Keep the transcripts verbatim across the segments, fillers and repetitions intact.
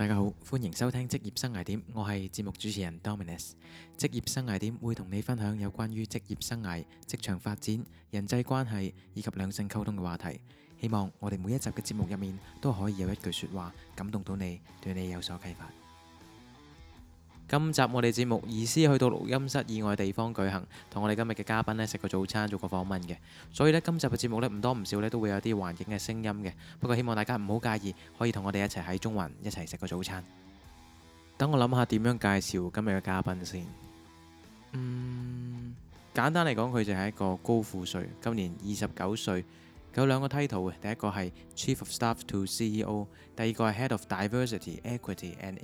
大家好，歡迎收聽職業生涯點，我係節目主持人 Dominus。職業生涯點會同你分享有關於職業生涯、職場發展、人際關係以及兩性溝通嘅話題。希望我哋每一集嘅節目入面都可以有一句說話感動到你，對你有所啟發。今集我哋節目移師去到錄音室以外地方舉行，同我哋今日嘅嘉賓呢食個早餐，做個訪問嘅。所以呢，今集嘅節目呢唔多唔少呢都會有啲環境嘅聲音嘅。不過希望大家唔好介意，可以同我哋一齊喺中環一齊食個早餐。等我諗下點樣介紹今日嘅嘉賓先。嗯，簡單嚟講，佢就係一個高富帥，今年二十九歲，有兩個 title 嘅。第一個係 Chief of Staff to C E O， 第二個係 Head of Diversity, Equity and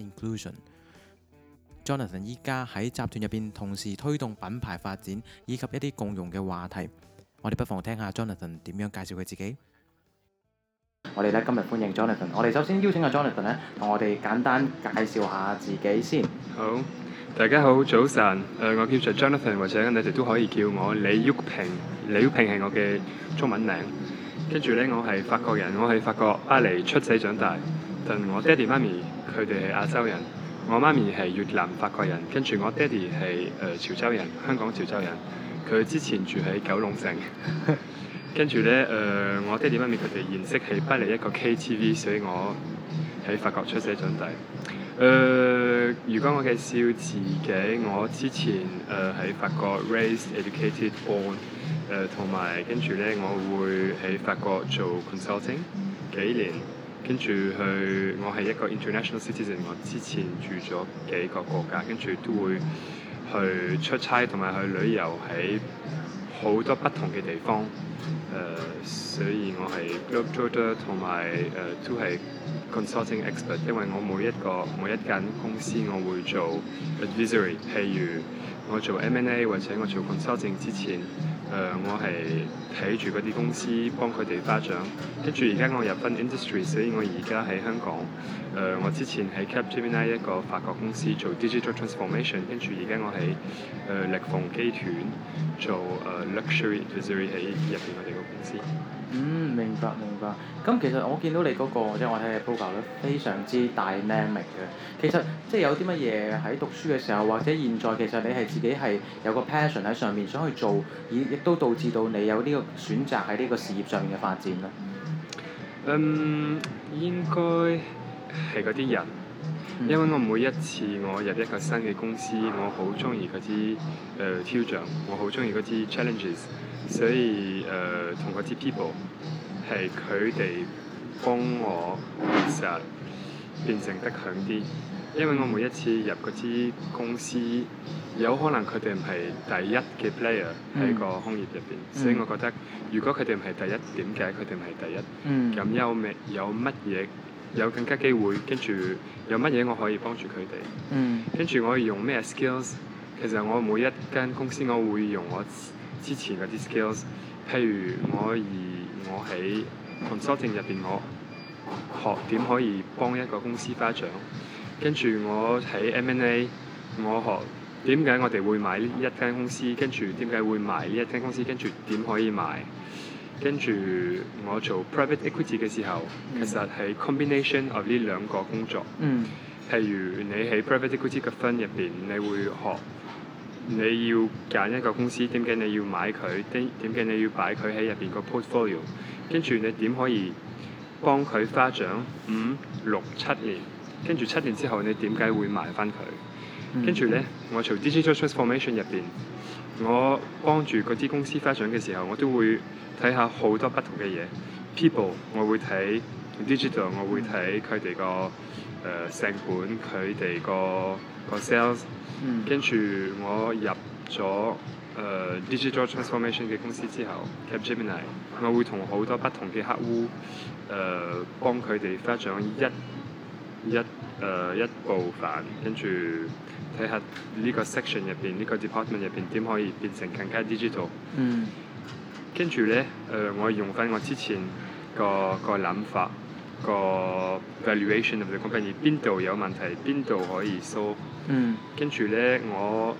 Inclusion。Jonathan 依家喺集團入邊同時推動品牌發展以及一啲共融嘅話題，我哋不妨聽下 Jonathan 點樣介紹佢自己。我哋咧今日歡迎 Jonathan， 我哋首先邀請阿 Jonathan 咧同我哋簡單介紹下自己先。 好，大家好，早晨。誒、呃，我叫做 Jonathan， 或者你哋都可以叫我李旭平。李旭平係我嘅中文名。跟住咧，我係法國人，我喺法國巴黎出世長大，但我爹哋媽咪佢哋係亞洲人。我媽咪係越南法國人，跟住我爹哋係誒潮州人，香港潮州人。佢之前住喺九龍城，跟住咧誒，我爹哋媽咪佢哋認識喺巴黎一個 K T V， 所以我喺法國出世長大。誒、呃，如果我介紹自己，我之前誒喺、呃、法國 raised educated born，誒同埋跟住咧，我會喺法國做 consulting 幾年。跟住去，我係一個 international citizen。我之前住咗幾個國家，跟住都會去出差同埋去旅遊喺好多不同嘅地方。誒、呃，所以我係 globetrotter 同埋誒都係 consulting expert。因為我每一個每一間公司，我會做 advisory。譬如我做 M and A 或者我做 consulting 之前。誒、呃，我係睇住嗰啲公司幫佢哋發展，跟住而家我入翻 industry， 所以我而家喺香港。誒、呃，我之前喺 Capgemini 一個法國公司做 digital transformation， 跟住而家我喺誒力鳳機團做誒、呃、luxury advisory 喺入邊我哋個公司。 嗯，明白明白。咁其實我見到你嗰、那個即係我睇嘅 profile 咧，非常之 dynamic 嘅。其實即係有啲乜嘢喺讀書嘅時候，或者現在其實你係自己係有個 passion 喺上面想去做，而亦都導致到你有呢個選擇喺呢個事業上面嘅發展咧。 嗯，應該係嗰啲人，因為我每一次我入一個新嘅公司，我好中意嗰啲誒挑戰，我好中意嗰啲 challenges， 所以誒同嗰啲 people 係佢哋幫我其實變成得強啲，因為我每一次入嗰啲公司，有可能佢哋唔係第一嘅 player 喺個行業入邊，嗯、所以我覺得如果佢哋唔係第一，點解佢哋唔係第一？咁、嗯、有咩有乜嘢有更加機會？跟住有乜嘢我可以幫住佢哋？嗯、跟住我用咩 skills？ 其實我每一間公司我會用我之前嗰啲 skills， 譬如我而我喺 consulting 入邊，我學點可以幫一個公司發展，跟住我喺 M and A， 我學。點解我哋會買呢一間公司？跟住點解會賣呢一間公司？跟住點可以賣？跟住我做 private equity 嘅時候，嗯、其實係 combination of 呢兩個工作。嗯。譬如你喺 private equity 嘅 fund 入邊，你會學你要揀一個公司，點解你要買佢？點點解你要擺佢喺入邊個 portfolio？ 跟住你點可以幫佢發展五六七年？跟住七年之後，你點解會賣翻佢？跟住咧，我做 digital transformation 入邊，我幫住嗰啲公司發展嘅時候，我都會睇下好多不同嘅嘢。People， 我會睇 digital， 我會睇佢哋個誒成本，佢哋個個 sales。跟住我入咗誒、呃、digital transformation 嘅公司之後 Capgemini， 我會同好多不同嘅客戶誒、呃、幫佢哋發展一一誒、呃、一部分，跟住。睇下呢個 section 入邊，呢、這個 department 入邊點可以變成更加 digital。嗯。跟住咧，誒、呃，我用翻我之前個個諗法，個 valuation of the company 邊度有問題，邊度可以 solve。嗯。跟住咧，我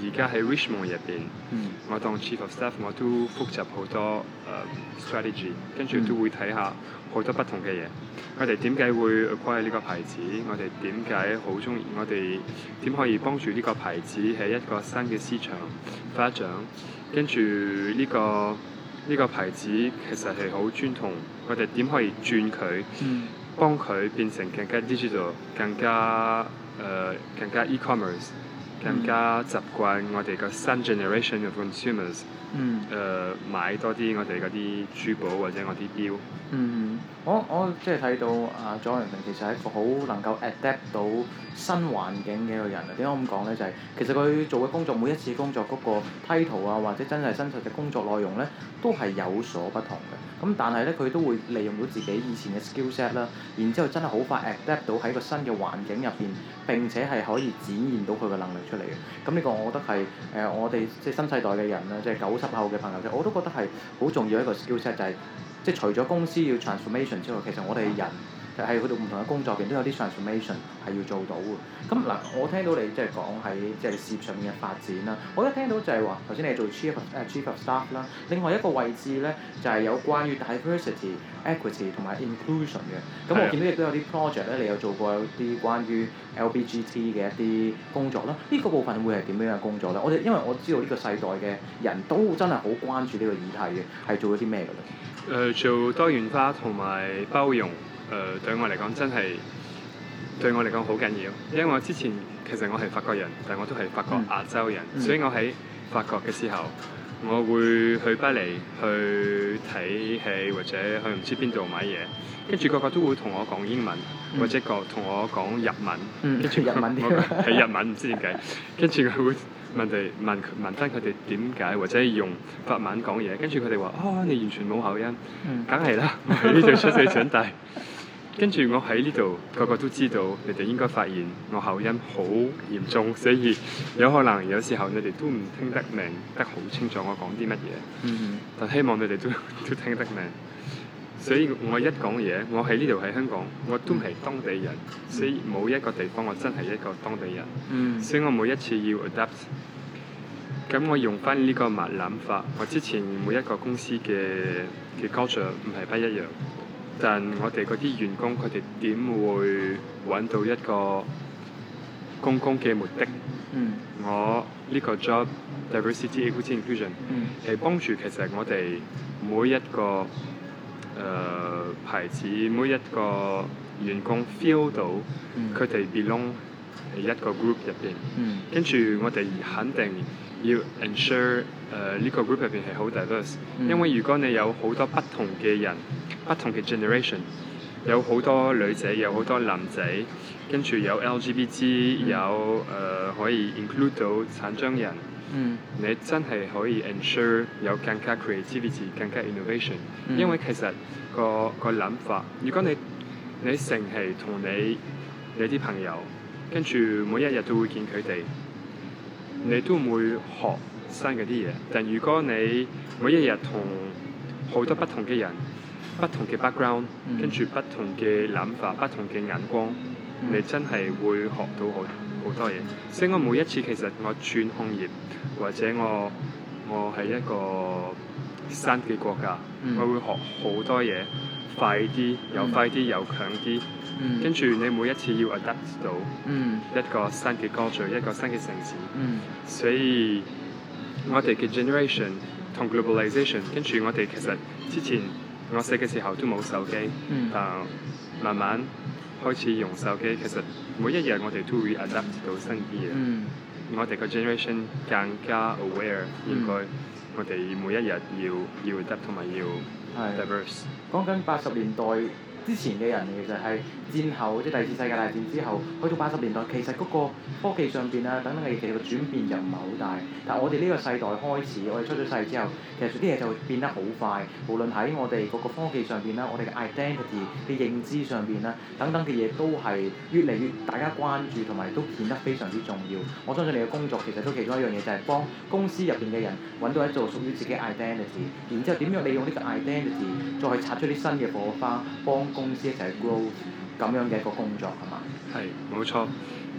而家喺 Richmond 入邊， 嗯我當 Chief of Staff 我都複習好多誒、uh, strategy，跟住都會睇下好多不同嘅嘢。我哋點解會 acquire 呢個牌子？我哋點解好中意？我哋點可以幫助呢個牌子喺一個新嘅市場發展？跟住呢個呢個牌子其實係好傳統，我哋點可以轉佢， 嗯幫佢變成更加 digital、更加誒、呃、更加 e-commerce、更加習慣我哋個新 generation of consumers 誒、 嗯呃、買多啲我哋嗰啲珠寶或者我啲錶。 嗯，我我即係睇到啊，左陽明其實係一個好能夠 adapt 到新環境嘅一個人啊。點解咁講咧？就係、是、其實佢做嘅工作，每一次工作嗰個 title 啊，或者真係真實嘅工作內容咧，都係有所不同嘅。咁但係咧，佢都會利用到自己以前嘅 skill set 啦，然之後真係好快 adapt 到喺個新嘅環境入邊，並且係可以展現到佢嘅能力出嚟嘅。咁呢個我覺得係誒、呃、我哋即係新世代嘅人啦，即係九十後嘅朋友啫，我都覺得係好重要一個 skill set，就係、是。即係除咗公司要 transformation 之外，其實我哋人係去到唔同嘅工作入邊都有啲 transformation 係要做到嘅。咁嗱，我聽到你即係講喺即係事業上面嘅發展啦，我一聽到就係話頭先你係做 chief of 誒 chief of staff 啦，另外一個位置咧就係、是、有關於 diversity、equity 同埋 inclusion 嘅。咁我見到亦都有啲 project 咧，你有做過有啲關於 L G B T 嘅一啲工作啦。呢、這個部分會係點樣嘅工作咧？我哋因為我知道呢個世代嘅人都真係好關注呢個議題嘅，係做咗啲咩㗎咧？ 誒、呃、做多元化同埋包容，誒、呃、對我嚟講真係對我嚟講好緊要，因為我之前其實我係法國人，但我都係法國亞洲人，嗯、所以我喺法國嘅時候，我會去巴黎去睇戲或者去唔知邊度買嘢，跟住個個都會同我講英文，嗯、或者個同我講日文，跟住、嗯、 日文啲係日文唔知點解，跟住佢會。問哋問問翻佢哋點解，或者用法文講嘢，跟住佢哋話：哦，你完全冇口音，梗係啦，我喺呢度出世長大。跟住我喺呢度，個個都知道，你哋應該發現我口音好嚴重，所以有可能有時候你哋都唔聽得明得好清楚我講啲乜嘢。 嗯、 但希望你哋都都聽得明。所以我一講嘢，我喺呢度喺香港，我都係當地人，所以冇一個地方我真係一個當地人。 嗯、 所以我每一次要 adapt，咁我用翻呢個物諗法。我之前每一個公司嘅嘅 culture 唔係不一樣，但我哋嗰啲員工佢哋點會揾到一個公共嘅目的？ 嗯、 我呢個 job diversity equity inclusion 係幫助其實我哋每一個。誒、呃、牌子每一個員工 feel 到佢哋 belong 喺一個 group 入邊，跟住、嗯、我哋肯定要 ensure 誒、呃、呢、這個 group 入邊係好 diverse，、嗯、因為如果你有好多不同嘅人，不同嘅 generation， 有好多女仔，有好多男仔，跟住有 L G B T，、嗯、有誒、呃、可以 include 到殘障人。嗯、你真係可以 ensure 有更加 creativity、更加 innovation，、嗯、因為其實、個、個諗法，如果你你成係同你你啲朋友，跟住每一日都會見佢哋，你都唔會學新嘅啲嘢。但如果你每一日同好多不同嘅人、不同嘅 background，、嗯、跟住不同嘅諗法、不同嘅眼光，嗯、你真係會學到好好多嘢。所以我每一次其實我轉行業。或者我我係一個新嘅國家，嗯、我會學好多嘢，快啲又快啲又強啲，嗯、跟住你每一次要 adapt 到一個新嘅 culture，一個新嘅城市，嗯、所以我哋嘅 generation 同 globalization， 跟住我哋其實之前我細嘅時候都冇手機，嗯、但慢慢開始用手機，其實每一日我哋都會 adapt 到新啲嘢。嗯我哋個 generation 更加 aware，、嗯、應該我哋每一日要要 adapt 同埋要 diverse。 講緊八十年代之前嘅人，其實係戰後即係第二次世界大戰之後，去到八十年代，其實嗰個科技上邊啊等等嘅嘢，其實個轉變就唔係好大。但係我哋呢個世代開始，我哋出咗世之後，其實啲嘢就會變得好快。無論喺我哋嗰個科技上邊啦，我哋嘅 identity 嘅認知上邊啦，等等嘅嘢都係越嚟越大家關注，同埋都顯得非常之重要。我相信你嘅工作其實都其中一樣嘢，就係、是、幫公司入邊嘅人揾到一座屬於自己 identity， 然之後點樣利用呢個 identity 再去擦出啲新嘅火花，幫公司一齊 grow 咁樣嘅一個工作係嘛？ 係冇錯，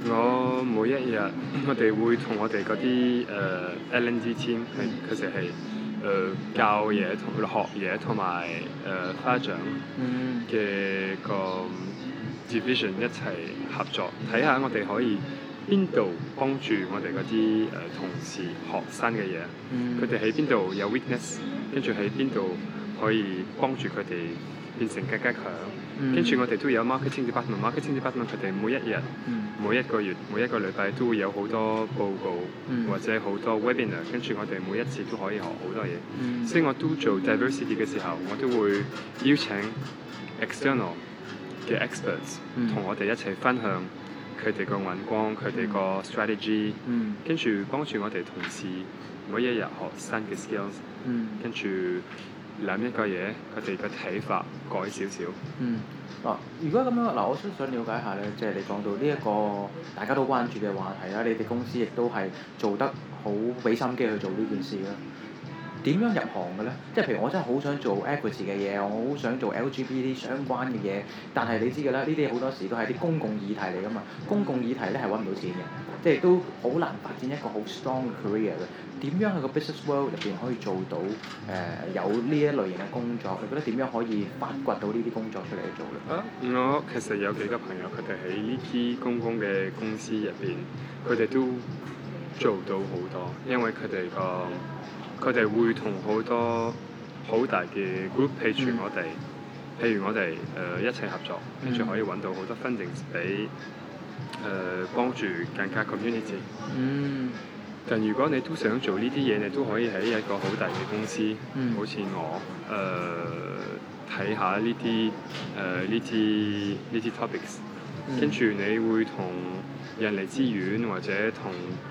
我每一日我哋會同我哋嗰啲誒 L and D team 係佢哋係誒教嘢同學嘢同埋誒家長嗯嘅個 division 一齊合作，睇下我哋可以邊度幫助我哋嗰啲誒同事學新嘅嘢， 嗯佢哋喺邊度有 weakness，跟住喺邊度可以幫住佢哋變成更加強。 嗯跟住我哋都有 marketing department，marketing department 佢哋每一日、 嗯每一個月、每一個禮拜都會有好多報告、 嗯或者好多 webinar，跟住我哋每一次都可以學好多嘢。 嗯所以我都做 diversity 嘅時候，我都會邀請 external 嘅 experts 嗯同我哋一齊分享佢哋個眼光、佢哋個 strategy， 嗯跟住幫住我哋同事每一日學新嘅 skills， 嗯跟住諗一個嘢，佢哋嘅睇法改少少。 嗯嗱，如果咁樣嗱，我都想了解下咧，即係你講到呢一個大家都關注嘅話題啦，你哋公司亦都係做得好俾心機去做呢件事啦。點樣入行嘅咧？即係譬如我真係好想做 equity 嘅嘢，我好想做 L G B T 相關嘅嘢，但係你知㗎啦，呢啲好多時都係啲公共議題嚟㗎嘛。公共議題咧係揾唔到錢嘅，即係都好難發展一個好 strong 嘅 career 嘅。點樣喺個 business world 入邊可以做到誒、呃、有呢一類型嘅工作？你覺得點樣可以發掘到呢啲工作出嚟去做咧？ 啊！我其實有幾個朋友，佢哋喺呢啲公共嘅公司入邊，佢哋都做到好多，因為佢哋個佢哋會同好多好大嘅 group 譬如我哋，譬如我哋誒、呃、一齊合作，跟住可以揾到好多 funding 俾誒幫助更加 community。 嗯但如果你都想做呢啲嘢，你都可以喺一個好大嘅公司， 嗯好似我誒睇、下呢啲誒呢啲呢啲 topics， 嗯跟住你會同人力資源或者同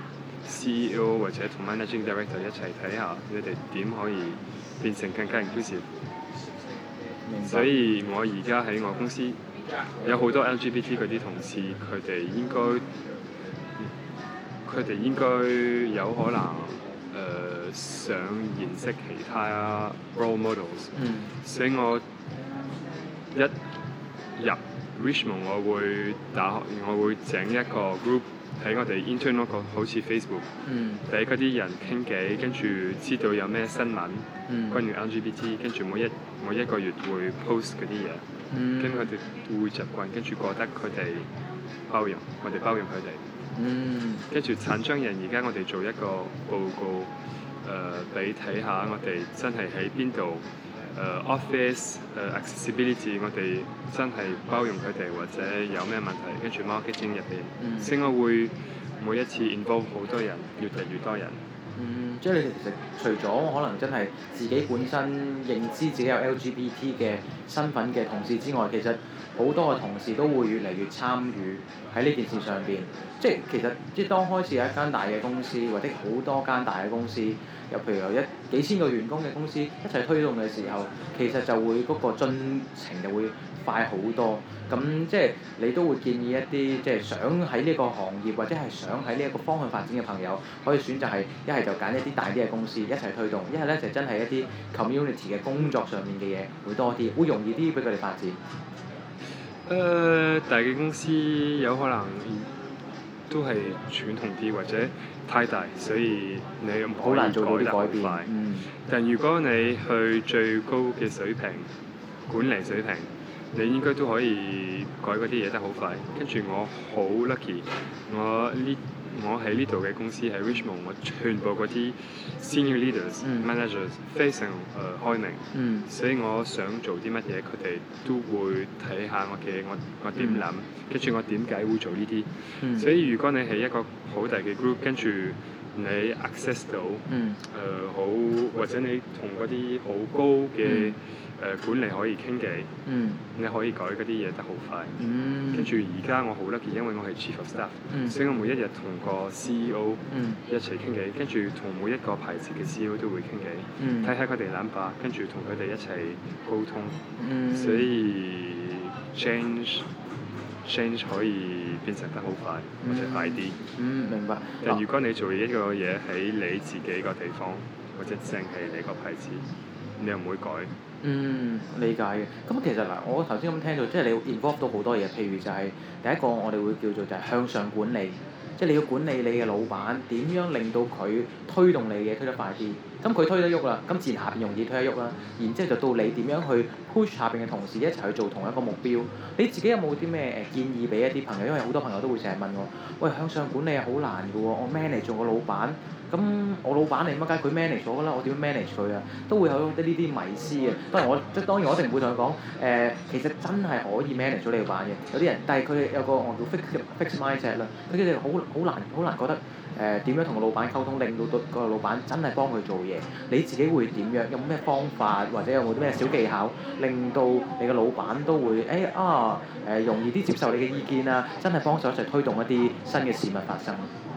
C E O 或者同 managing director 一齊睇下，你哋點可以變成更加 inclusive。 明白。 所以我而家喺我公司有好多 L G B T 嗰啲同事，佢哋應該佢哋應該有可能誒、呃想認識其他 role models。 嗯所以我一入 Richmond，我會打我會整一個 group 喺我哋 internal 個好似 Facebook， 嗯俾嗰啲人傾偈，跟住知道有咩新聞嗯關於 L G B T，跟住每一每一個月會 post 嗰啲嘢， 嗯跟住佢哋會習慣，跟住覺得佢哋包容，我哋包容佢哋。 嗯跟住產商人，而家我哋做一個報告，誒俾睇下我哋真係喺邊度，誒、office 誒、accessibility，我哋真係包容佢哋或者有咩問題，跟住 marketing 入邊， 嗯所以我會每一次 involve 好多人，越嚟越多人。 嗯，即係你哋其實除咗可能真係自己本身認知自己有 L G B T 嘅身份嘅同事之外，其實好多嘅同事都會越嚟越參與喺呢件事上邊。即係其實即係當開始有一間大嘅公司，或者好多間大嘅公司，又譬如有一幾千個員工嘅公司一齊推動嘅時候，其實就會嗰個進程就會快好多。咁即係你都會建議一啲即係想喺呢個行業或者係想喺呢一個方向發展嘅朋友，可以選擇係一係就揀一啲大啲嘅公司一齊推動，一係咧就真係一啲 community 嘅工作上面嘅嘢會多啲，會容易啲俾佢哋發展。 誒、呃大嘅公司有可能都係傳統啲或者太大，所以你唔可以好難做到改得好啲改變快。。 嗯但如果你去最高嘅水平，管理水平，你應該都可以改嗰啲嘢得好快。跟住我好 lucky，我呢我喺呢度嘅公司喺 Richmond，我全部嗰啲 senior leaders、 嗯 managers 非常誒、呃、開明。 嗯所以我想做啲乜嘢，佢哋都會睇下我嘅我我點諗，跟住我點解會做呢啲。 嗯所以如果你係一個好大嘅 group，跟住你 access 到誒、 嗯呃好，或者你同嗰啲好高嘅誒、呃管理可以傾偈， 嗯你可以改嗰啲嘢得好快。 嗯跟住而家我好 lucky，因為我係 chief of staff，、 嗯所以我每一日同個 C E O 嗯一齊傾偈，跟住同每一個牌子嘅 C E O 都會傾偈。 嗯睇下佢哋諗法，跟住同佢哋一齊溝通， 嗯所以 change change 可以變成得好快或者快啲。 嗯明白。 但如果你做一個嘢喺你自己個地方，或者淨係你個牌子，你又唔會改， 嗯，理解嘅。咁其實嗱，我頭先咁聽到，即係你要 involve 到好多嘢，譬如就係第一個我哋會叫做就係向上管理，即係你要管理你嘅老闆，點樣令到佢推動你嘅嘢推得快啲。咁佢推得喐啦，咁自然下邊容易推得喐啦。然之後就到你點樣去 push 下邊嘅同事一齊去做同一個目標。你自己有冇啲咩誒建議俾一啲朋友？因為好多朋友都會成日問我，喂，向上管理係好難嘅喎，我 manage 做個老闆。咁我老闆嚟乜解佢 manage 咗㗎啦，我點樣 manage 佢啊？都會有啲呢啲迷思嘅。當然我即係當然我一定唔會同佢講誒，其實真係可以 manage 咗你老闆嘅。有啲人，但係佢哋有個我叫 fix fix mindset 啦，佢哋好好難好難覺得誒點樣同個老闆溝通，令到個個老闆真係幫佢做嘢。你自己會點樣？有冇咩方法或者有冇啲咩小技巧，令到你嘅老闆都會誒、哎、啊誒、呃、容易啲接受你嘅意見啊，真係幫手一齊推動一啲新嘅事物發生。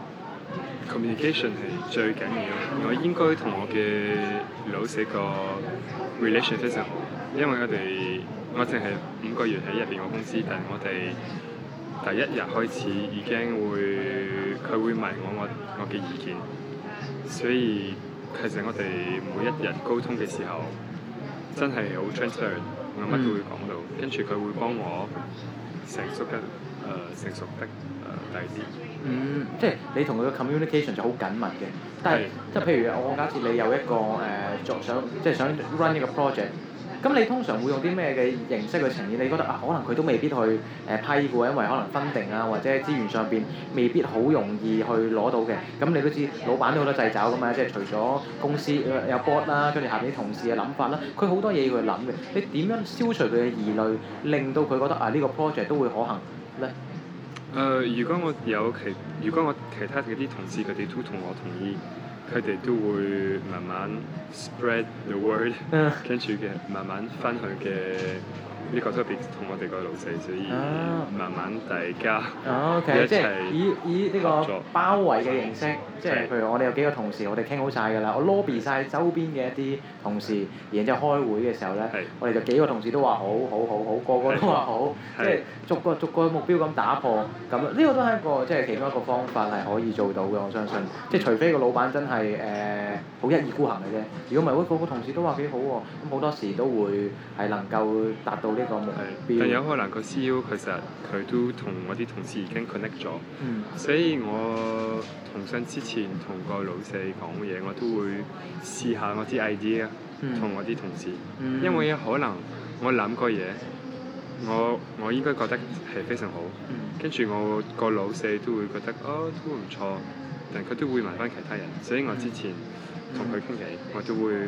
communication 係最緊要，我應該同我嘅老細個 relation 非常好，因為我哋我淨係五個月喺入邊個公司，但係我哋第一日開始已經會佢會問我我我嘅意見，所以其實我哋每一日溝通嘅時候真係好 transparent，我乜都會講到，跟住佢會幫我成熟得誒、呃、成熟得誒大啲。 嗯，即係你同佢嘅 communication 就好緊密嘅，但係即係譬如我假設你有一個誒作、呃、想即係想 run 一個 project，咁你通常會用啲咩嘅形式去呈現？你覺得啊，可能佢都未必去誒、呃、批嘅喎，因為可能 funding 啊或者資源上邊未必好容易去攞到嘅。咁你都知老闆都好多掣肘㗎嘛，即係除咗公司有 board 啦，跟住下邊啲同事嘅諗法啦，佢好多嘢要去諗嘅。你點樣消除佢嘅疑慮，令到佢覺得啊呢、呢個 project 都會可行咧？ 誒、呃，如果我有其，如果我其他嗰啲同事佢哋都同我同意，佢哋都會慢慢 spread the word，跟住嘅慢慢分享嘅呢個 topic 同我哋個老細，所以慢慢大家哦，OK，即係以以呢個作包圍嘅形式，即係譬如我哋有幾個同事，我哋傾好晒㗎啦，我 lobby 晒周邊嘅一啲同事，然之後開會嘅時候咧，我哋就幾個同事都話好好好好，個個都話好，即係逐個逐個目標咁打破，咁呢個都係一個即係其中一個方法係可以做到嘅，我相信。即係除非個老闆真係誒好一意孤行嘅啫，如果唔係，喂個個同事都話幾好喎，咁好多時都會係能夠達到呢個目標。 但有可能個 C E O 其實佢都同我啲同事已經 connect 咗， 嗯、 所以我同上之前同個老細講嘢，我都會試下我啲 idea 同我啲同事， 嗯、 因為可能我諗個嘢，我我應該覺得係非常好，跟住、嗯、我個老細都會覺得哦都唔錯，但佢都會問翻其他人，所以我之前同佢傾偈，我都會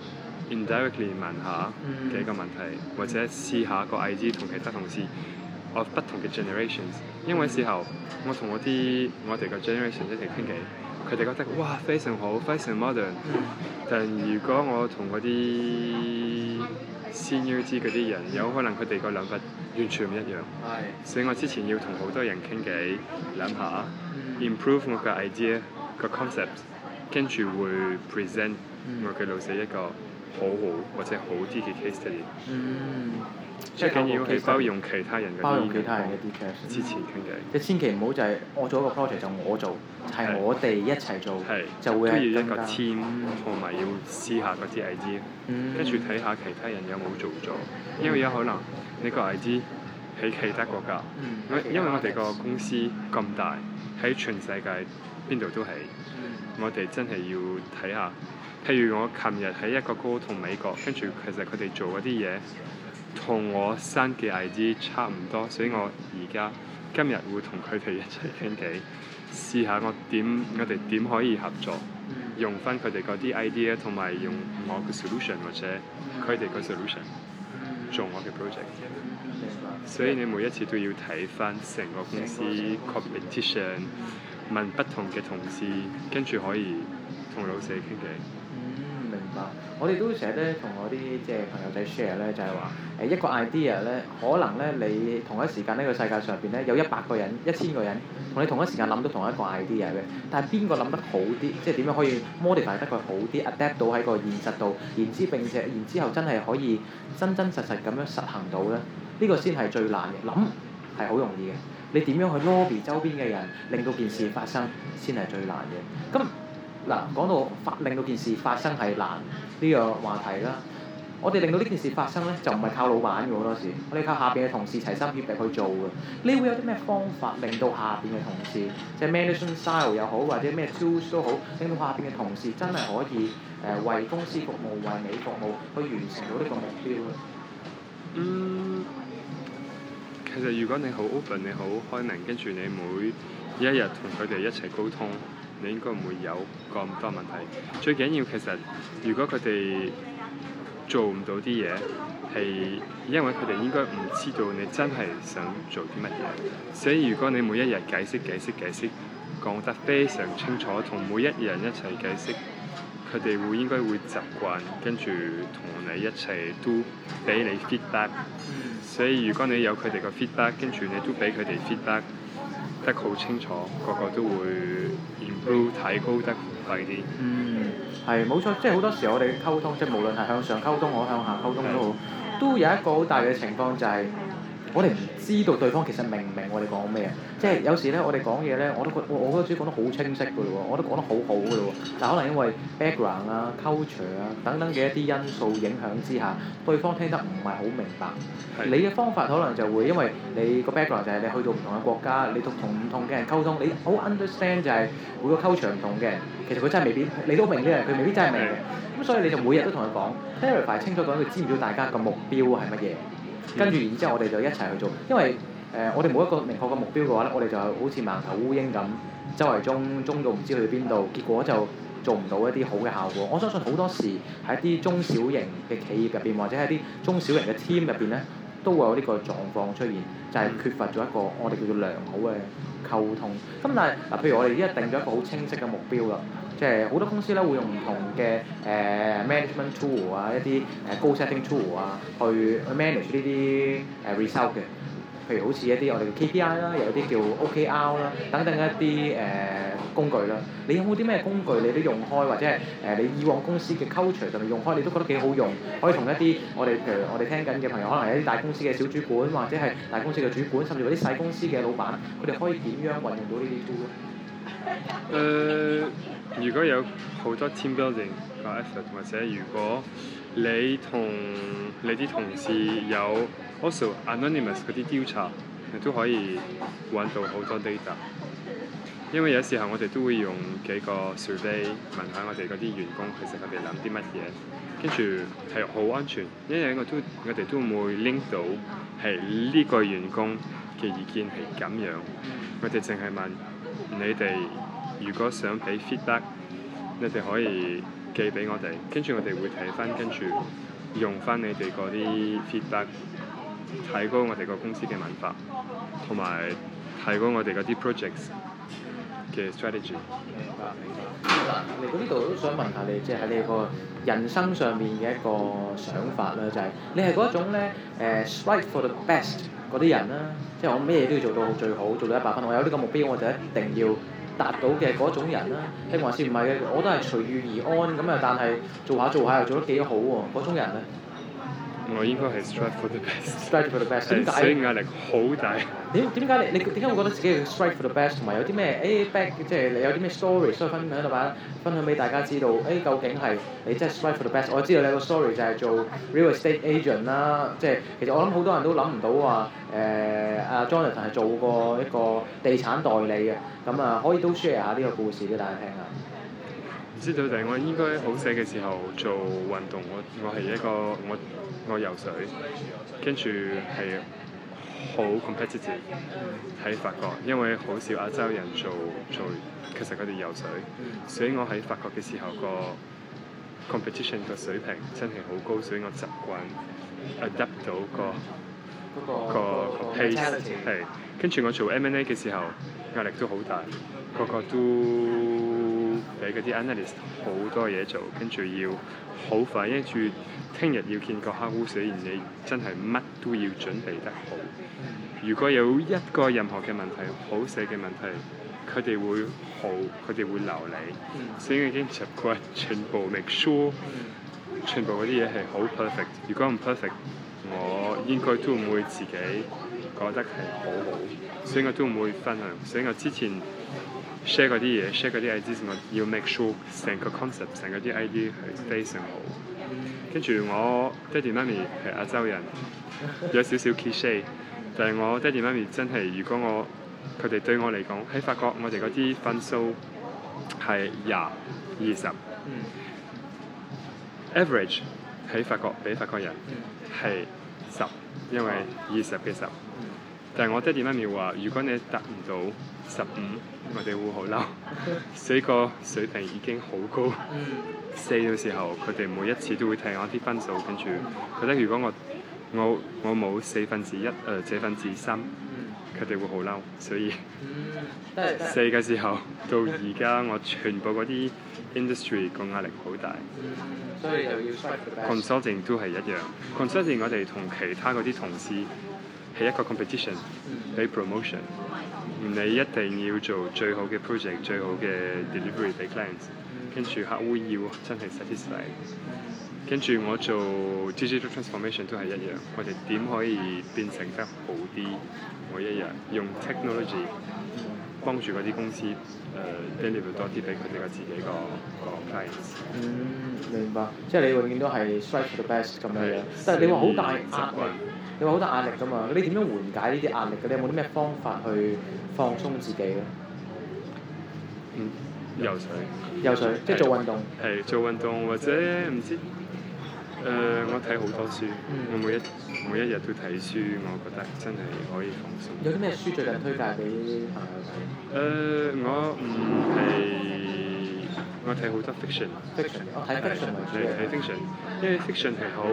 indirectly 問下幾個問題，嗯、或者試下個 idea 同其他同事 of 不同嘅 generations， 因為時候我同我啲我哋個 generation 一齊傾偈，佢哋覺得哇非常好，非常 modern，嗯、但如果我同嗰啲 senior 啲嗰啲人，有可能佢哋個諗法完全唔一樣， 嗯、 所以我之前要同好多人傾偈，諗下 improve 我個 idea 個 concept， 跟住會 present 我嘅老細一個好好或者好啲嘅 case study。 嗯， 最緊要係包容其他人嘅包容其他人嘅啲 case。 之前傾偈。 即係千祈唔好就係我做一個 project 就我做，係我哋一齊做，就會係更加。都要一個 team，同埋要試下嗰啲 idea，跟住睇下其他人有冇做咗，因為有可能你個 idea 喺其他國家，因為我哋個公司咁大，喺全世界邊度都係，我哋真係要睇下。譬如我琴日喺一個 call 同美國，跟住其實佢哋做嗰啲嘢同我新嘅 idea 差唔多，所以我而家今日會同佢哋一齊傾偈，試下我點我哋點可以合作，用翻佢哋嗰啲 idea 同埋用我嘅 solution 或者佢哋個 solution 做我嘅 project。所以你每一次都要睇翻成個公司 competition， 問不同嘅同事，跟住可以同老細傾偈。 明白，我哋都成日咧同我啲即係朋友仔 share 咧，就係話誒一個 idea 咧，可能咧你同一時間呢個世界上邊咧有一百個人、一千個人同你同一時間諗到同一個 idea 嘅，但係邊個諗得好啲，即係點樣可以 modify 得佢好啲 adapt 到喺個現實度，然之並且然之後真係可以真真實實咁樣實行到咧，呢、呢個先係最難嘅。諗係好容易嘅，你點樣去 lobby 周邊嘅人，令到件事發生先係最難嘅。咁嗱，講到發令到件事發生係難呢個話題啦， 我哋令到呢件事發生咧，就唔係靠老闆嘅好多時，我哋靠下邊嘅同事齊心協力去做嘅。你會有啲咩方法令到下邊嘅同事，即係 management style 又好，或者咩 tools 都好，令到下邊嘅同事真係可以誒、呃、為公司服務、為你服務，去完成到呢個目標咧？ 嗯，其實如果你好 open，你好開明，跟住你每一日同佢哋一齊溝通，你應該唔會有咁多問題。最緊要其實，如果佢哋做唔到啲嘢，係因為佢哋應該唔知道你真係想做啲乜嘢。所以如果你每一日解釋、解釋、解釋，講得非常清楚，同每一人一齊解釋，佢哋會應該會習慣，跟住同你一齊都俾你 feedback。所以如果你有佢哋個 feedback，跟住你都俾佢哋 feedback 得好清楚，個個都會 improve 提高得快啲。 嗯，係冇錯，即係好多時我哋溝通，即係無論係向上溝通，我向下溝通都好，都有一個好大嘅情況就係、是。我哋唔知道對方其實明唔明我哋講咩啊！即係有時咧，我哋講嘢咧，我都覺我我覺得自己講得好清晰㗎咯喎，我都講得好好㗎咯喎。但可能因為 background 啊、culture 啊等等嘅一啲因素影響之下，對方聽得唔係好明白。你嘅方法可能就會因為你個 background 就係你去到唔同嘅國家，你同同唔同嘅人溝通，你好 understand 就係每個 culture 唔同嘅人，其實佢真係未必你都明啲人，佢未必真係明嘅。咁所以你就每日都同佢講 clarify 清楚講，佢知唔知道大家個目標係乜嘢？跟住然之後，我哋就一齊去做，因為誒、呃、我哋冇一個明確嘅目標嘅話咧，我哋就好似盲頭烏蠅咁，周圍中中到唔知去邊度，結果就做唔到一啲好嘅效果。我相信好多時喺一啲中小型嘅企業入邊，或者係啲中小型嘅 team 入邊咧，都會有呢個狀況出現，就係、是、缺乏咗一個我哋叫做良好嘅溝通。咁但係嗱，譬如我哋而家定咗一個好清晰嘅目標啦。即係好多公司咧會用唔同嘅誒、呃、management tool 啊，一啲誒 goal setting tool 啊，去去 manage 呢啲誒 result 嘅。譬如好似一啲我哋嘅 K P I 啦，又有啲叫 O K R 啦，等等一啲誒、呃、工具啦。你有冇啲咩工具你都用開，或者係誒、呃、你以往公司嘅 culture 上面用開，你都覺得幾好用，可以同一啲我哋譬如我哋聽緊嘅朋友，可能係一啲大公司嘅小主管，或者係大公司嘅主管，甚至乎啲細公司嘅老闆，佢哋可以點樣運用到呢啲 tool 咧？ 誒、呃，如果有好多 team building 個 effort，或者如果你同你啲同事有 also anonymous 嗰啲調查，你都可以揾到好多 data。因為有時候我哋都會用幾個 survey 問下我哋嗰啲員工，其實佢哋諗啲乜嘢，跟住係好安全，因為我都我哋都會 link 到係呢個員工嘅意見係咁樣，我哋淨係問你哋如果想俾 feedback，你哋可以寄俾我哋，跟住我哋會睇翻，跟住用翻你哋嗰啲 feedback，提高我哋個公司嘅文化，同埋提高我哋嗰啲 projects嘅 strategy。 明白明白。嗱，嚟到呢度都想問下你，即係喺你個人生上面嘅一個想法啦，就係、是、你係嗰一種咧誒 strive for the best 嗰啲人啦，即係我咩嘢都要做到最好，做到一百分，我有呢個目標我就一定要達到嘅嗰種人啦，定還是唔係嘅？我都係隨遇而安咁啊，但係做下做下又做得幾好喎，嗰種人咧？ 我應該係 strive for the best。 strive for the best。點解？ 所以壓力好大。 點點解你你點解會覺得自己係 strive for the best？同埋有啲咩誒 back 即係你有啲咩 story 所以分享到把分享俾大家知道？誒、欸、究竟係你真係 strive for the best？我知道你有個 story 就係做 real estate agent 啦，即係其實我諗好多人都諗唔到話誒阿 Jonathan 係做過一個地產代理嘅，咁啊可以都 share 下呢個故事俾大家聽下。 唔知道，但係我應該好細嘅時候做運動，我我係一個我我游水，跟住係好 competitive 喺法國，因為好少亞洲人做做，其實佢哋游水，所以我喺法國嘅時候個 competition 個水平真係好高，所以我習慣 adapt 到個、嗯、個個 pace 係，跟住我做 M and A 嘅時候壓力都好大，個個都俾嗰啲 analyst 好多嘢做，跟住要好快，跟住聽日要見個客戶，所以你真係乜都要準備得好。如果有一個任何嘅問題，好細嘅問題，佢哋會好，佢哋會留你。所以我已經習慣全部 make sure，全部嗰啲嘢係好 perfect。如果唔 perfect，我應該都唔會自己覺得係好好，所以我都唔會分享。所以我之前share 嗰啲嘢 ，share 嗰啲 idea，我要 make sure 成個 concept，成嗰啲 idea 係非常好。 跟住我爹哋媽咪係亞洲人，有少少 cliché，但係我爹哋媽咪真係，如果我佢哋對我嚟講喺法國，我哋嗰啲分數係廿二十，average 喺法國俾法國人係十，因為二十嘅十。但係我爹哋媽咪話，如果你達唔到十五，我哋會好嬲。所以個水平已經好高。四嘅時候，佢哋每一次都會睇我啲分數，跟住覺得如果我我我冇四分之一誒、呃、四分之三，佢哋會好嬲。所以四嘅時候到而家，我全部嗰啲 industry 個壓力好大。 所以就要 strike the best。 consulting 都係一樣。consulting 我哋同其他嗰啲同事係一個 competition，俾 promotion。你一定要做最好嘅 project， 最好嘅 delivery 俾 clients， 跟住客戶要真係 satisfy。跟住我做 digital transformation 都係一樣，我哋點可以變成得好啲？我一樣用 technology 幫住嗰啲公司誒、呃、deliver 多啲俾佢哋個自己個個 clients。 嗯，明白。即係你永遠都係 strike the best 咁樣樣。但係你話好大壓力，你話好大壓力㗎嘛？你點樣緩解呢啲壓力嘅？你有冇啲咩方法去放鬆自己咧？ 嗯，游水。 游水，即係做運動。 係做運動或者唔知誒、呃，我睇好多書， 嗯、 我每一每一日都睇書，我覺得真係可以放鬆。 有啲咩書最近推介俾朋友睇？ 誒、呃，我唔係我睇好多 fiction。 fiction，我睇 fiction 為主。 係睇 fiction，因為 fiction 係好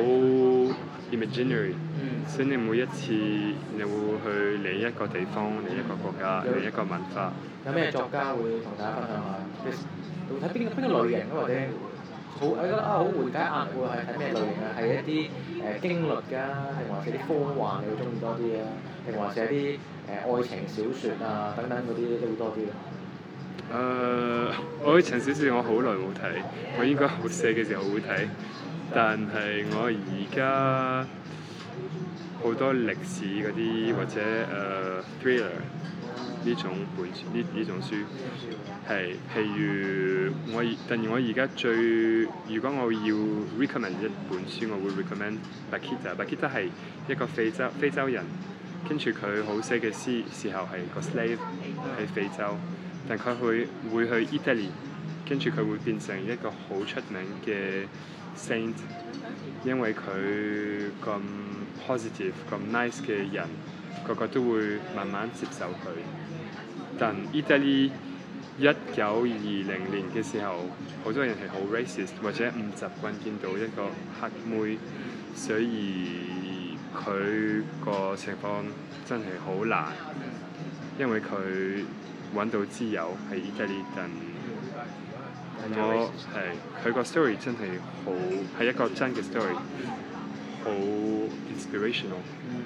imaginary。所以你每一次你會去另一個地方、另一個國家、另一個文化。 有咩作家會同大家分享下？你會睇邊邊個類型或者好我覺得啊好緩解壓力喎，係睇咩類型啊？係一啲誒、呃、驚慄㗎，定還是啲科幻你會中意多啲啊？定還是係啲誒愛情小説啊等等嗰啲都會多啲啊？ 誒、呃，愛情小説我好耐冇睇，我應該好細嘅時候會睇，但係我而家好多歷史嗰啲或者誒、呃、thriller 呢種本呢呢種書係，譬如我但係我而家最如果我要 recommend 一本書，我會 recommend Bakita。Bakita 係一個非洲非洲人，跟住佢好細嘅時時候係個 slave 喺非洲，但佢會會去 Italy， 跟住佢會變成一個好出名嘅 saint， 因為佢咁 positive 咁 nice 嘅人，個個都會慢慢接受佢。但意大利一九二零年嘅時候，好多人係好 racist 或者唔習慣見到一個黑妹，所以佢個情況真係好難，因為佢揾到自由喺意大利，但我係佢個 story 真係好係一個真嘅 story，好 inspirational。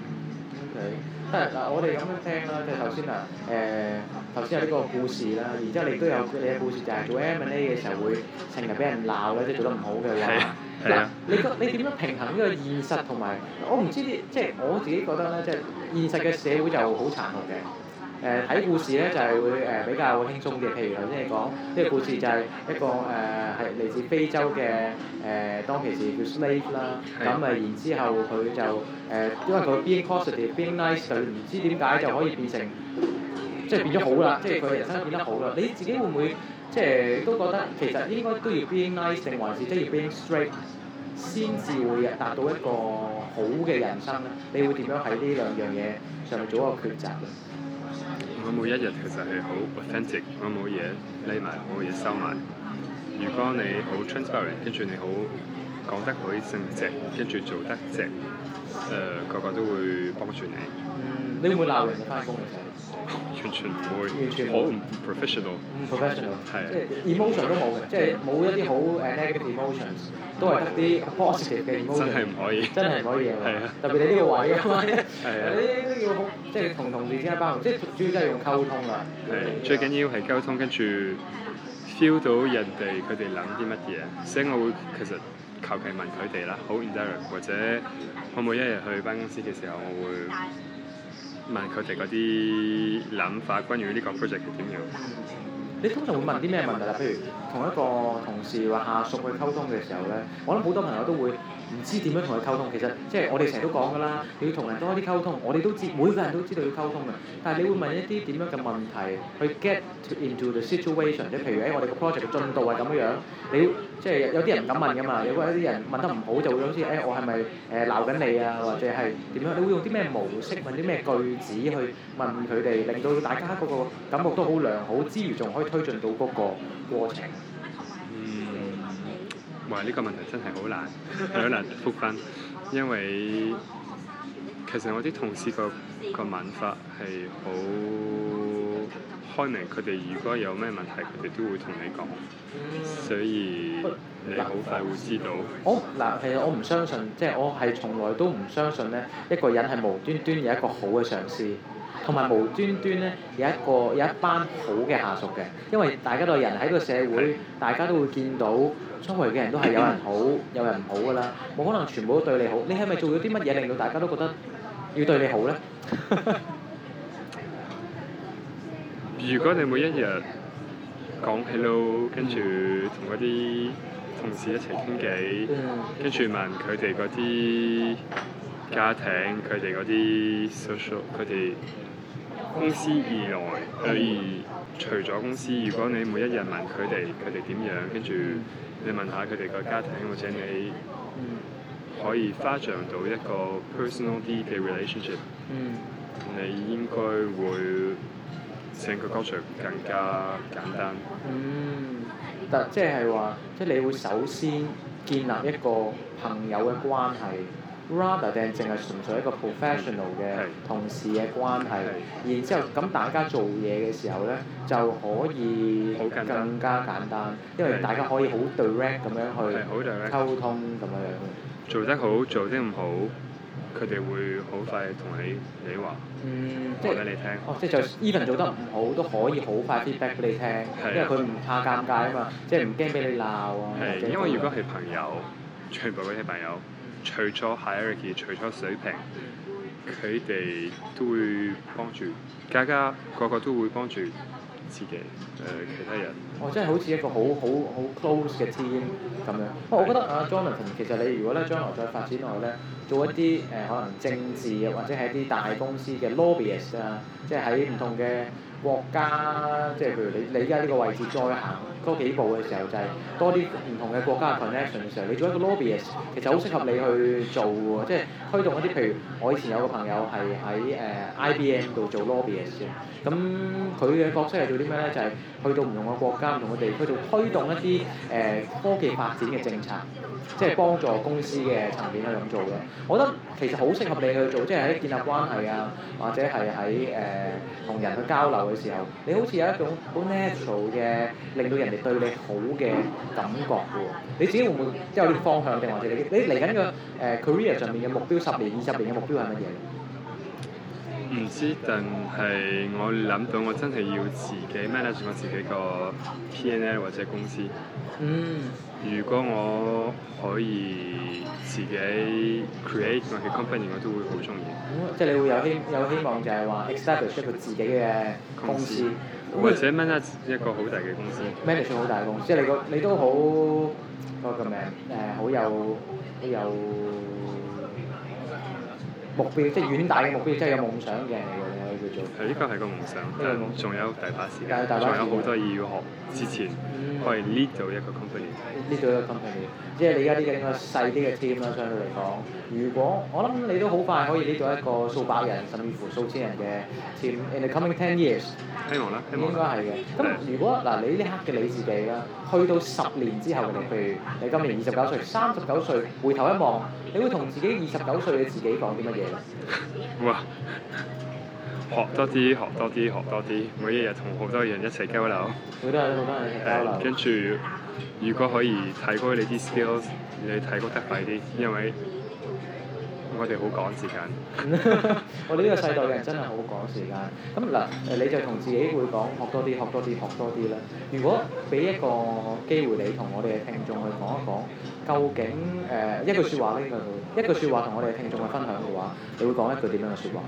OK，即係嗱，我哋咁樣聽啦，即係頭先啊，誒頭先有呢個故事啦，然之後你都有你嘅故事就係做 M and A 嘅時候會成日俾人鬧咧，即係做得唔好嘅話，嗱你個你點樣平衡呢個現實同埋我唔知啲，即係我自己覺得咧，即係現實嘅社會就好殘酷嘅。誒睇、呃、故事咧就係、是、會誒、呃、比較輕鬆嘅，譬如頭先你講呢、這個故事就係一個誒係嚟自非洲嘅誒、呃、當其時叫 slave 啦，咁啊然之後佢就誒、呃、因為佢 being positive being nice 就唔知點解就可以變成即係變咗好啦，即係佢人生變得好啦。你自己會唔會即係都覺得其實應該都要 being nice 定還是即係要 being straight 先至會達到一個好嘅人生咧？你會點樣喺呢兩樣嘢上面做一個抉擇咧？ 我每一日其實係好 authentic， 我冇嘢匿埋，冇嘢收埋。如果你好 transparent， 跟住你好講得好正直，跟住做得直，誒、呃、個個都會幫住你。 嗯，你會唔會鬧人哋翻工嘅時候？ 完全唔會， 完全好唔 professional。 唔 professional， 係即係 emotion 都冇嘅，即係冇一啲好誒 negative emotions，都係得啲 positive 嘅 emotion。 真係唔可以。真係唔可以嘅。 係啊。 特別你呢個位啊嘛， 係啊。 你都要好，即係同同事之間包容，即係主要真係用溝通啦。 係，最緊要係溝通，跟住 feel 到人哋佢哋諗啲乜嘢，所以我會其實求其問佢哋啦，好 indirect， 或者我每一日去辦公室嘅時候，我會問佢哋嗰啲諗法，關於呢個 project 係點樣。 你通常會問啲咩問題啦？譬如同一個同事或下屬去溝通嘅時候咧，我諗好多朋友都會唔知點樣同佢溝通。其實即係我哋成日都講㗎啦，你要同人多啲溝通。我哋都知每個人都知道要溝通嘅，但係你會問一啲點樣嘅問題去 get to into the situation，即係譬如喺我哋個 project 嘅進度係咁樣樣，你即係有啲人唔敢問㗎嘛，有啲人問得唔好就會好似誒、哎、我係咪誒鬧緊你啊，或者係點樣？你會用啲咩模式問啲咩句子去問佢哋，令到大家嗰個感覺都好良好之餘，仲可以推進到嗰個過程。 嗯，哇！呢、這個問題真係好難，好難覆返，因為其實我啲同事個個問法係好開明，佢哋如果有咩問題，佢哋都會同你講，所以你好快會知道。 我嗱，其實我唔相信，即係我係從來都唔相信咧，一個人係無端端有一個好嘅上司，同埋無端端咧有一個有一班好嘅下屬嘅，因為大家都係人喺個社會，大家都會見到周圍嘅人都係有人好，有人唔好㗎啦，冇可能全部都對你好。你係咪做咗啲乜嘢令到大家都覺得要對你好咧？ 如果你每一日講 hello，跟住同嗰啲同事一齊傾偈，跟住問佢哋嗰啲家庭，佢哋嗰啲 social，佢哋公司以內，可以除咗公司，如果你每一日問佢哋佢哋點樣，跟住你問下佢哋個家庭，或者你可以發展到一個 personal 啲嘅 relationship， 嗯、 你應該會成個 culture 更加簡單。 嗯，但即係話，即係你會首先建立一個朋友嘅關係 rather than 淨係純粹一個 professional 嘅同事嘅關係。然之後咁大家做嘢嘅時候咧，就可以更加簡單，因為大家可以好 direct 咁樣去溝通咁樣樣。 做得好，做得唔好，佢哋會好快同你你話， 嗯，即係話俾你聽。 哦，即係就 even 做得唔好都可以好快 feedback 俾你聽，因為佢唔怕尷尬啊嘛，即係唔驚俾你鬧啊。 係，因為如果係朋友，全部嗰啲朋友，除咗 hierarchy，除咗水平，佢哋都會幫住，大家個個都會幫住自己誒、呃、其他人。 哦，即係好似一個好好好 close 嘅 team 咁樣。不過我覺得啊 Jonathan 其實你如果咧將來再發展落去咧，做一啲誒、呃、可能政治或者係一啲大公司嘅 lobbyist 啊，即係喺唔同嘅國家，即係譬如你你而家呢個位置再行多幾步嘅時候，就係、是、多啲唔同嘅國家嘅 connection 嘅時候，你做一個 lobbyist 其實好適合你去做喎，即係推動一啲譬如我以前有個朋友係喺誒 I B M 度做 lobbyist 嘅，咁佢嘅角色係做啲咩咧？就係、是、去到唔同嘅國家、唔同嘅地區度推動一啲誒、呃、科技發展嘅政策，即係幫助公司嘅層面去咁做嘅。我覺得其實好適合你去做，即係喺建立關係啊，或者係喺誒同人去交流嘅時候，你好似有一種好 natural 嘅令到人哋對你好嘅感覺嘅喎。你自己會唔會有啲方向，定或者你你嚟緊個誒 career 上面嘅目標，十年、二十年嘅目標係乜嘢？ 唔知，但係我諗到我真係要自己 manage 我自己個 P and L 或者公司。 嗯。 如果我可以自己 create 我嘅 company，我都會好中意。 咁即係你會有希有希望就係話 establish 一個自己嘅公司， 或者 manage 一個好大嘅公司。 manage 好大嘅公司，即係你個你都好嗰個名誒，好有好有目標，即係遠大嘅目標，即係有夢想嘅人嚟嘅，你可以叫做。 係，呢個係個夢想，但仲有大把時間，仲有好多嘢要學。之前可以 lead 到一個 company。lead 到一個 company， 即係你而家呢個應該細啲嘅 team 啦，相對嚟講。如果我諗你都好快可以 lead 到一個數百人甚至乎數千人嘅 team in the coming ten years。 希望啦，希望。應該係嘅。咁如果嗱你呢刻嘅你自己啦，去到十年之後嘅你，譬如你今年二十九歲、三十九歲，回頭一望，你會同自己二十九歲嘅自己講啲乜嘢咧？ 哇！學多啲，學多啲，學多啲，每一日同好多人一齊交流。 好多人，好多人一齊交流。 跟住，如果可以提高你啲 skills，你提高得快啲，因為我哋好趕時間。 我哋呢個世代嘅人真係好趕時間。咁嗱，誒你就同自己會講學多啲，學多啲，學多啲啦。如果俾一個機會你同我哋嘅聽眾去講一講，究竟誒、呃、一句説話呢個一句説話同我哋嘅聽眾去分享嘅話，你會講一句點樣嘅説話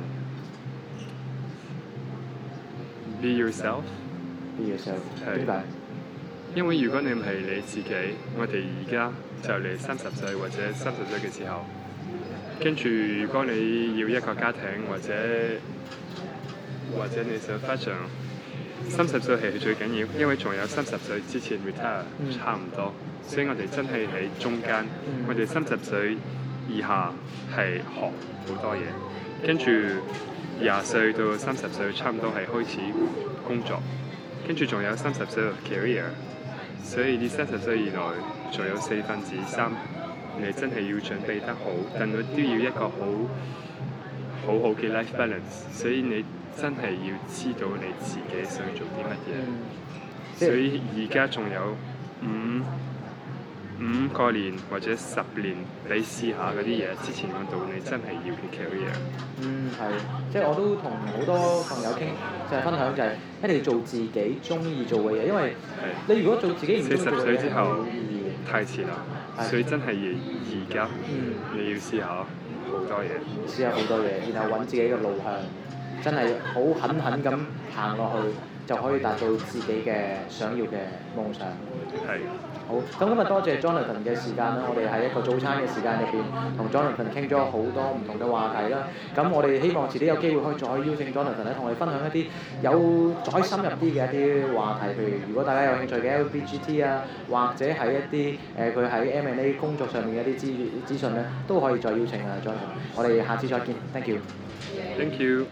？Be yourself. Be yourself. 點解？ 因為如果你唔係你自己，我哋而家就嚟三十歲或者三十歲嘅時候，跟住如果你要一個家庭或者或者你想發展，三十歲係最緊要，因為仲有三十歲之前 retire 差唔多，所以我哋真係喺中間， 嗯我哋三十歲以下係學好多嘢，跟住廿歲到三十歲差唔多係開始工作，跟住仲有三十歲嘅 career。所以呢三十歲以內仲有四分之三，你真係要準備得好，但係都要一個好好好嘅 life balance。所以你真係要知道你自己想做啲乜嘢。 嗯、 所以而家仲有五五個年或者十年，你試下嗰啲嘢。之前講到你真係要嘅 career。 嗯，係，即係我都同好多朋友傾，就係、是、分享就係一定要做自己中意做嘅嘢，因為你如果做自己唔中意做嘅嘢， 四十歲之後係太遲啦，所以真係要而家、 嗯、 你要試下好多嘢， 試下好多嘢，然後揾自己嘅路向，真係好狠狠咁行落去，就可以達到自己嘅想要嘅夢想。 係。 好，咁今日多謝 Jonathan 嘅時間啦，我哋喺一個早餐嘅時間入邊，同 Jonathan 傾咗好多唔同嘅話題啦。咁我哋希望遲啲有機會可以再邀請 Jonathan 咧，同我哋分享一啲有再深入啲嘅一啲話題，譬如如果大家有興趣嘅 L B G T 啊，或者係一啲誒佢喺 M and A 工作上面嘅一啲資資訊咧，都可以再邀請啊 Jonathan。我哋下次再見 ，thank you。 Thank you。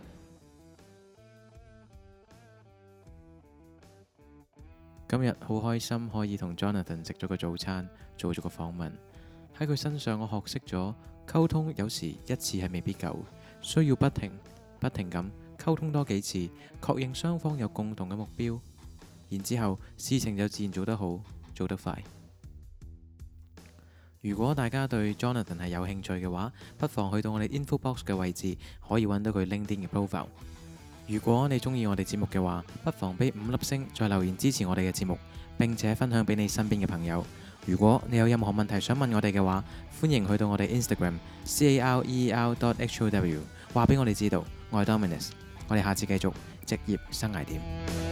今日好開心可以同 Jonathan 食咗個早餐，做咗個訪問。喺佢身上，我學識咗溝通有時一次係未必夠，需要不停不停咁溝通多幾次，確認雙方有共同嘅目標，然之後事情就自然做得好，做得快。如果大家對 Jonathan 係有興趣嘅話，不妨去到我哋 info box 嘅位置，可以揾到佢 LinkedIn 嘅 profile。如果你中意我哋節目嘅話，不妨俾五粒星，再留言支持我哋嘅節目，並且分享俾你身邊嘅朋友。如果你有任何問題想問我哋嘅話，歡迎去到我哋 Instagram career dot how 話俾我哋知道。我係 Dominus，我哋下次繼續職業生涯點。